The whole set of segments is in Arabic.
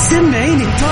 سمعيني التوب.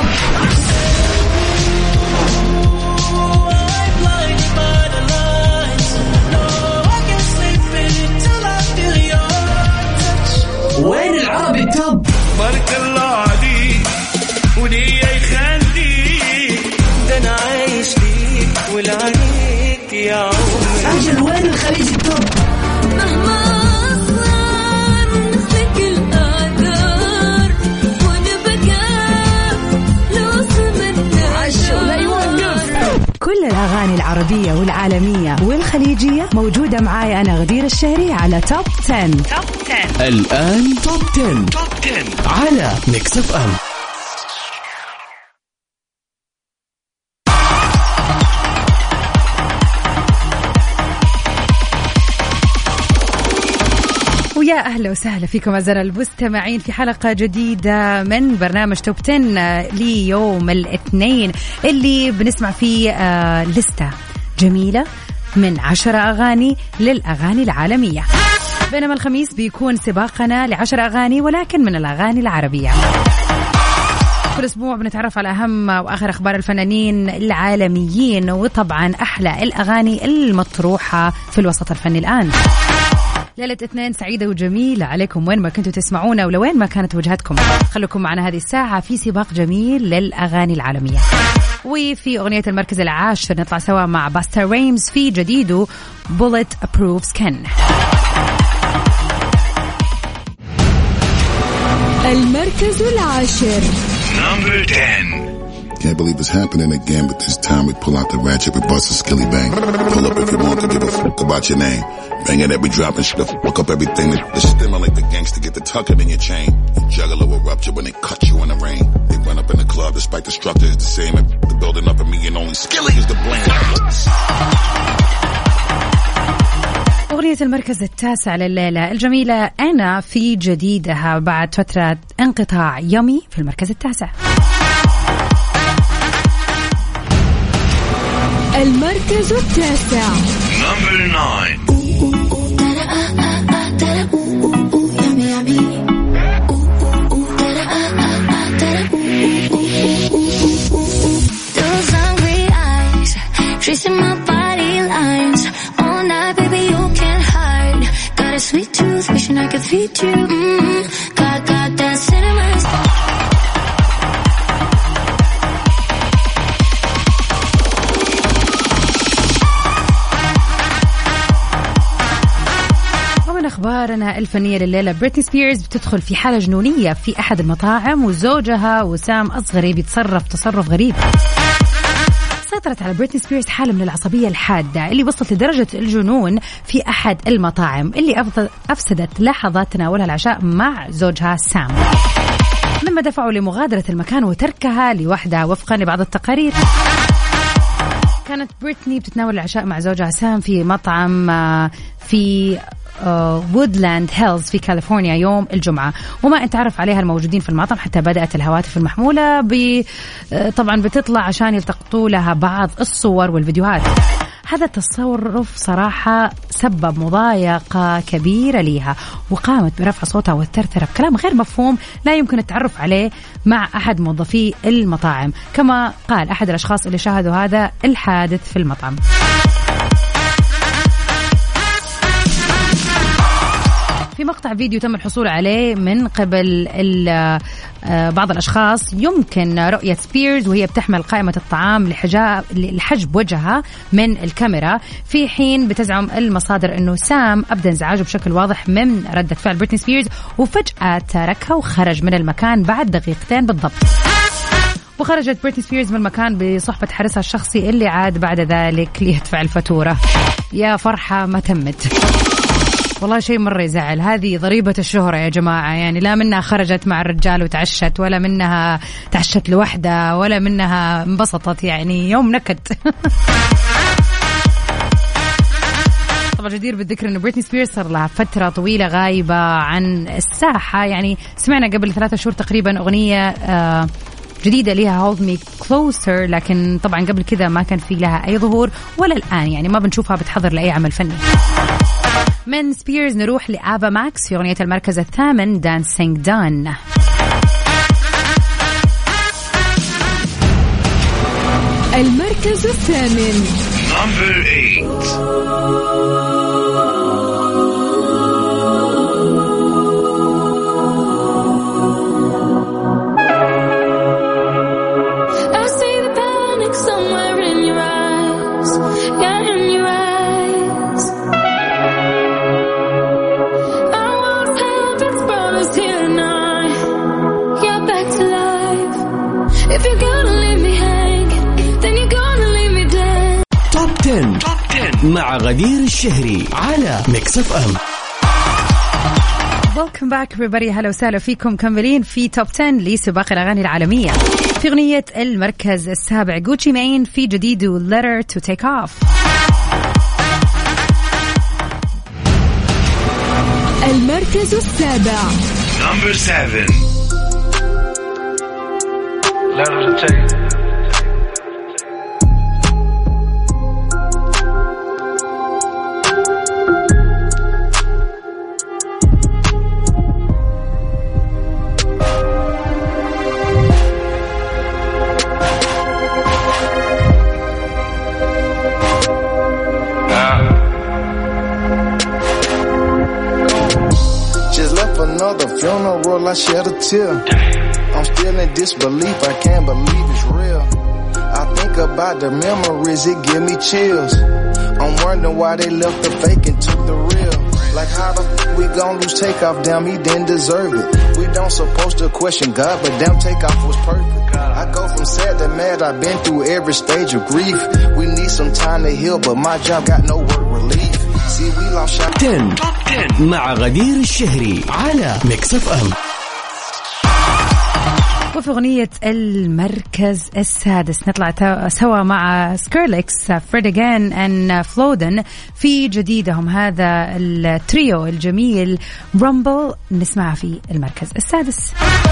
وين العربي التوب؟ بارك الله عليك ولي يخليك، ده انا عايش ليك ولعنيك يا عمري. أجل وين الخليج التوب؟ مهما أصغر نخلق الأعذار ونبقى لوصل منا عشو لا يوقف. كل الأغاني العربية والعالمية والخليجية موجودة معاي أنا غدير الشهري على توب 10. الآن توب 10 على ميكس اف ام. ويا أهلا وسهلا فيكم أعزائنا المستمعين في حلقة جديدة من برنامج توب 10 ليوم الاثنين، اللي بنسمع فيه لستة جميلة من 10 أغاني للأغاني العالمية، بينما الخميس بيكون سباقنا ل10 أغاني ولكن من الأغاني العربية. كل أسبوع بنتعرف على أهم وآخر أخبار الفنانين العالميين، وطبعا أحلى الأغاني المطروحة في الوسط الفني الآن. ليلة اثنين سعيدة وجميلة عليكم وين ما كنتوا تسمعونا ولوين ما كانت وجهتكم. خلوكم معنا هذه الساعة في سباق جميل للأغاني العالمية. وفي أغنية المركز العاشر نطلع سوا مع باستا ريمز في جديده Bullet Proof Skin. المركز العاشر. Number 10. Can't believe it's happening again, but this time we pull out the ratchet, we bust a skilly bang. Pull up if you want to give a fuck about your name. Bang it every drop and shit, fuck up everything. The stimmer like the gangster, get the tucking in your chain. The juggler will rupture when they cut you in the rain. They run up in the club despite the structure is the same. The building up in me and only skilly is the blame. أغنية المركز التاسع لليلة الجميلة أنا في جديدها بعد فترة انقطاع يمي في المركز التاسع. المركز التاسع. Number 9. Those hungry eyes tracing my body lines all night, baby you can't hide. Got a sweet tooth, wishing I could feed you. Got that cinnamon. أخبارنا الفنية لليلة، بريتني سبيرز بتدخل في حالة جنونية في أحد المطاعم، وزوجها وسام أصغري بيتصرف تصرف غريب. سيطرت على بريتني سبيرز حالة من العصبية الحادة اللي وصلت لدرجة الجنون في أحد المطاعم اللي أفسدت لحظات تناولها العشاء مع زوجها سام، مما دفعوا لمغادرة المكان وتركها لوحدها. وفقا لبعض التقارير كانت بريتني بتتناول العشاء مع زوجها سام في مطعم في وودلاند هيلز في كاليفورنيا يوم الجمعة، وما انتعرف عليها الموجودين في المطعم حتى بدأت الهواتف المحمولة طبعا بتطلع عشان يلتقطوا لها بعض الصور والفيديوهات. هذا التصرف صراحة سبب مضايقة كبيرة ليها، وقامت برفع صوتها والثرثرة بكلام غير مفهوم لا يمكن التعرف عليه مع أحد موظفي المطاعم، كما قال أحد الأشخاص اللي شاهدوا هذا الحادث في المطعم. في مقطع فيديو تم الحصول عليه من قبل بعض الأشخاص يمكن رؤية سبيرز وهي بتحمل قائمة الطعام لحجب وجهها من الكاميرا، في حين بتزعم المصادر أنه سام أبدى انزعاجه بشكل واضح من ردة فعل بريتني سبيرز، وفجأة تركها وخرج من المكان بعد دقيقتين بالضبط. وخرجت بريتني سبيرز من المكان بصحبة حارسها الشخصي اللي عاد بعد ذلك ليدفع الفاتورة. يا فرحة ما تمت، والله شيء مرة يزعل. هذه ضريبة الشهرة يا جماعة، يعني لا منها خرجت مع الرجال وتعشت، ولا منها تعشت لوحدها، ولا منها انبسطت، يعني يوم نكد. طبعا جدير بالذكر أنه بريتني سبيرز صار لها فترة طويلة غايبة عن الساحة، يعني سمعنا قبل 3 شهور تقريبا أغنية جديدة لها Hold Me Closer، لكن طبعا قبل كذا ما كان في لها أي ظهور، ولا الآن يعني ما بنشوفها بتحضر لأي عمل فني. من سبيرز نروح لآبا ماكس في أغنية المركز الثامن Dancing Done. المركز الثامن. Number 8. مع غدير الشهري على ميكس اف ام. Welcome back everybody. هلا وسهلا فيكم. كملين في توب 10 لسباق الأغاني العالمية. في أغنية المركز السابع Gucci Mane في جديده Letter to Take Off. المركز السابع Number 7. Letter to Take. I shed a tear. I'm still in disbelief. I can't believe it's real. I think about the memories, it give me chills. I'm wondering why they left the fake and took the real. Like how the we gon' lose Takeoff? Damn, he didn't deserve it. We don't supposed to question God, but damn, Takeoff was perfect. I go from sad to mad. I've been through every stage of grief. We need some time to heal, but my job got no work relief. See, we lost shot. 10 مع غدير الشهري على ميكس اف ام. وفي أغنية المركز السادس نطلع سوا مع سكيرليكس فريديغان أند فلودن في جديدهم هذا التريو الجميل رامبل. نسمعها في المركز السادس.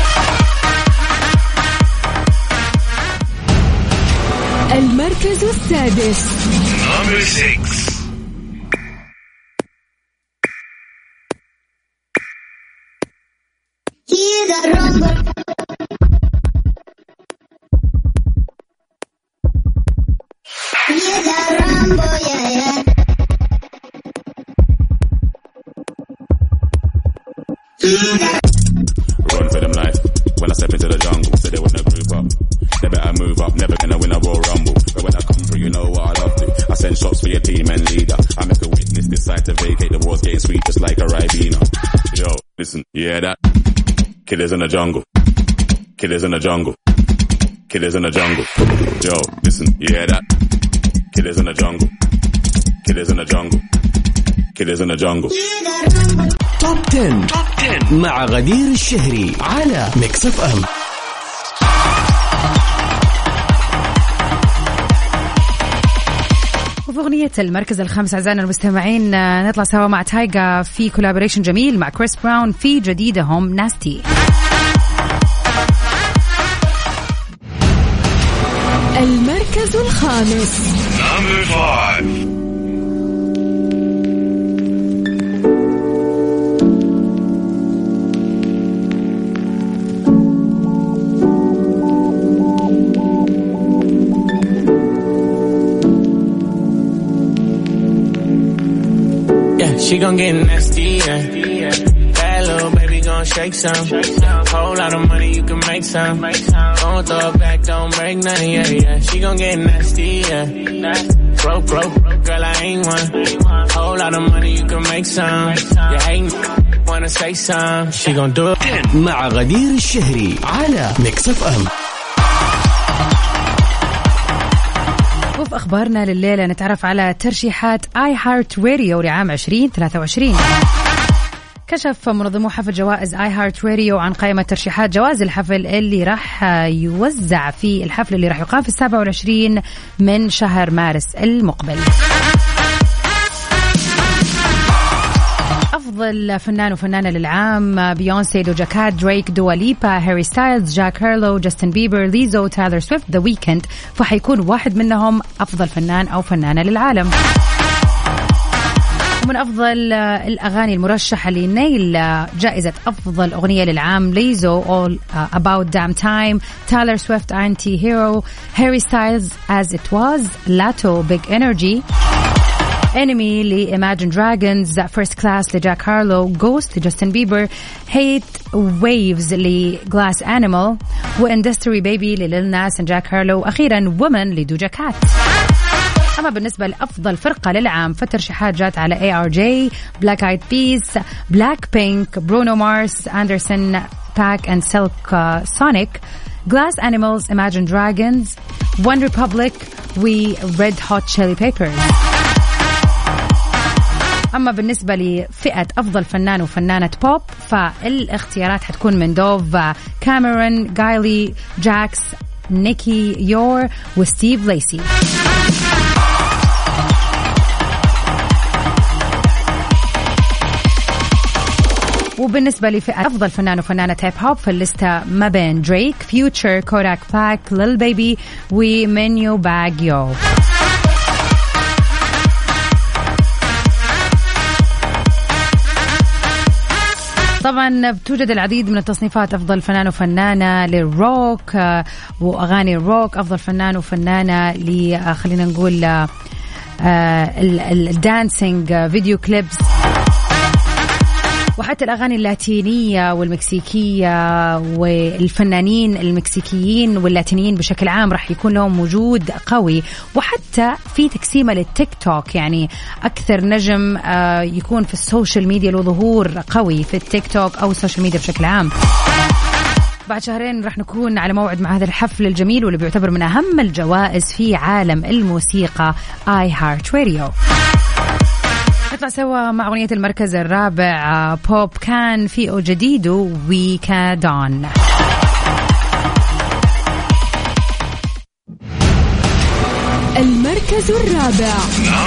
المركز السادس Number 6. Run for them life. When I step into the jungle, so they wanna group up. They better move up, never gonna win a Royal Rumble. But when I come through, you know what I love to. I send shots for your team and leader. I make a witness decide to vacate. The war's getting sweet just like a Ribena. Yo, listen, you hear that? Killers in the jungle. Killers in the jungle. Killers in the jungle. Yo, listen, you hear that? Killers in the jungle. Killers in the jungle. Killers in the jungle. توب 10 مع غدير الشهري على ميكس اف ام. وفي أغنية المركز الخامس أعزائنا المستمعين نطلع سوا مع تايجا في كولابوريشن جميل مع كريس براون في جديدهم ناستي. المركز الخامس Number 5. She gon' get nasty, yeah. Bad little baby gon' shake some. Whole lot of money, you can make some. Don't throw it back, don't break nothing, yeah. She gon' get nasty, yeah. Broke, girl, I ain't one. Whole lot of money, you can make some. Yeah, ain't wanna say some. She gon' do it. مع غدير الشهري على ميكس اف ام. وفي أخبارنا لليلة نتعرف على ترشيحات آي هارت راديو لعام 2023. كشف منظمو حفل جوائز آي هارت راديو عن قائمة ترشيحات جوائز الحفل اللي راح يوزع في الحفل اللي راح يقام في 27 من شهر مارس المقبل. أفضل فنان وفنانة للعام بيونسي، دوجا كات، دريك، دواليبا، هاري ستايلز، جاك هارلو، جاستن بيبر، ليزو، تايلر سويفت، ذا ويكند، فحيكون واحد منهم أفضل فنان أو فنانة للعالم. من أفضل الأغاني المرشحة لنيل جائزة أفضل أغنية للعام ليزو All About Damn Time, Taylor Swift Anti-Hero, Harry Styles As It Was, Lato Big Energy, Enemy ل Imagine Dragons, First Class لجاك هارلو, Ghost لجاستن بيبر, Hate Waves ل Glass Animal, وIndustry Baby لليل ناس جاك هارلو, وأخيرا Woman لدوجا كات. أما بالنسبة لأفضل فرقة للعام فترشيحات جات على ARJ, Black Eyed Peas, Blackpink, Bruno Mars, Anderson Paak and Silk Sonic, Glass Animals, Imagine Dragons, One Republic و Red Hot Chili Peppers. أما بالنسبة لفئة أفضل فنان وفنانة بوب فالاختيارات حتكون من دوف, كاميرون, جايلي, جاكس, نيكي يور وستيف ليسي. وبالنسبة لفئة أفضل فنان وفنانة هيب هوب فالليستة ما بين دريك, فيوتشر, كوداك بلاك, ليل بيبي ومنيو باغيو. طبعا بتوجد العديد من التصنيفات, أفضل فنان وفنانة للروك وأغاني الروك, أفضل فنان وفنانة خلينا نقول الدانسينج فيديو كليبس, وحتى الأغاني اللاتينية والمكسيكية, والفنانين المكسيكيين واللاتينيين بشكل عام راح يكون لهم وجود قوي, وحتى في تقسيمة للتيك توك, يعني أكثر نجم يكون في السوشيال ميديا له ظهور قوي في التيك توك أو السوشيال ميديا بشكل عام. بعد شهرين راح نكون على موعد مع هذا الحفل الجميل واللي بيعتبر من أهم الجوائز في عالم الموسيقى iHeartRadio. نطلع سوا مع أغنية المركز الرابع, بوب كان في جديده ويكادون. المركز الرابع.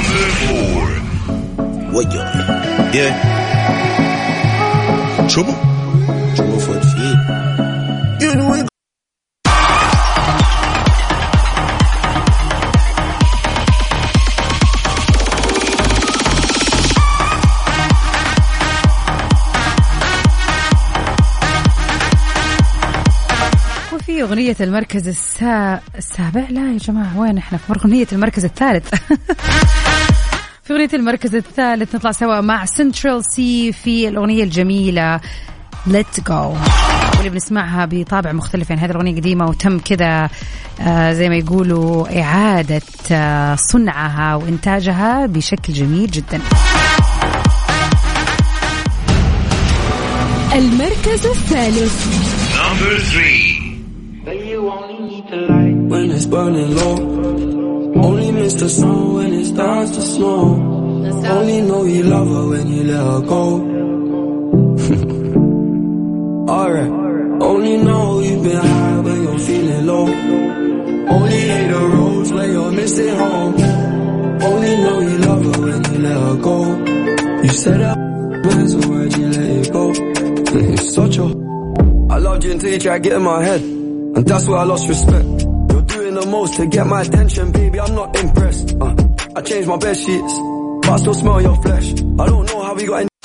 في أغنية المركز السابع, لا يا جماعة وين احنا, في أغنية المركز الثالث. في أغنية المركز الثالث نطلع سوا مع سنترال سي في الأغنية الجميلة Let Go, واللي بنسمعها بطابع مختلف. يعني هذه الأغنية قديمة وتم كذا زي ما يقولوا إعادة صنعها وإنتاجها بشكل جميل جدا. المركز الثالث. Number 3. When it's burning low, only miss the sun when it starts to snow. Only know you love her when you let her go. Alright, only know you've been high when you're feeling low. Only hate the roads when you're missing home. Only know you love her when you let her go. You said that, so why'd you let it go? It's such a I loved you until you tried getting my head, and that's where I lost respect. You're doing the most to get my attention, baby, I'm not impressed. I changed my bed sheets, but I still smell your flesh. I don't know how we got in.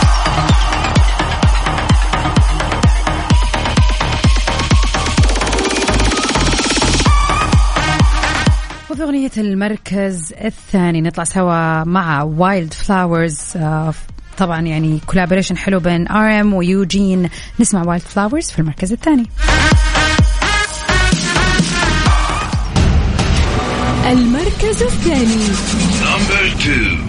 وفي أغنية المركز الثاني نطلع سوا مع وايلد فلاورز, طبعا يعني كولابوريشن حلو بين RM ويوجين. نسمع وايلد فلاورز في المركز الثاني. المركز الثاني. Number 2.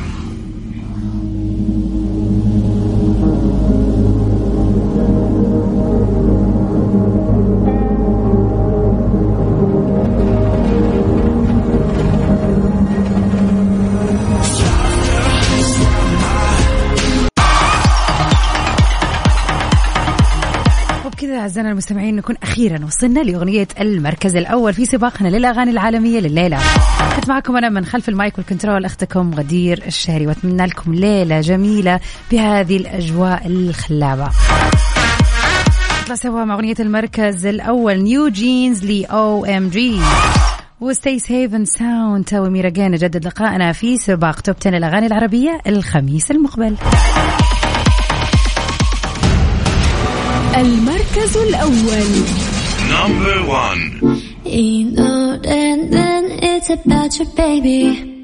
أعزائنا المستمعين نكون أخيرا وصلنا لأغنية المركز الأول في سباقنا للأغاني العالمية لليلة. كنت معكم أنا من خلف المايك والكنترول أختكم غدير الشهري, وأتمنى لكم ليلة جميلة بهذه الأجواء الخلابة. نطلع سوا مع أغنية المركز الأول, نيو جينز ل OMG, وستي سيفن ساوند تو ميراجين. نجدد لقائنا في سباق توب 10 الأغاني العربية الخميس المقبل. المركز الأول. Number 1. You know then it's about your baby.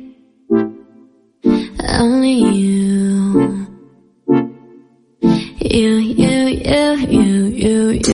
Only you.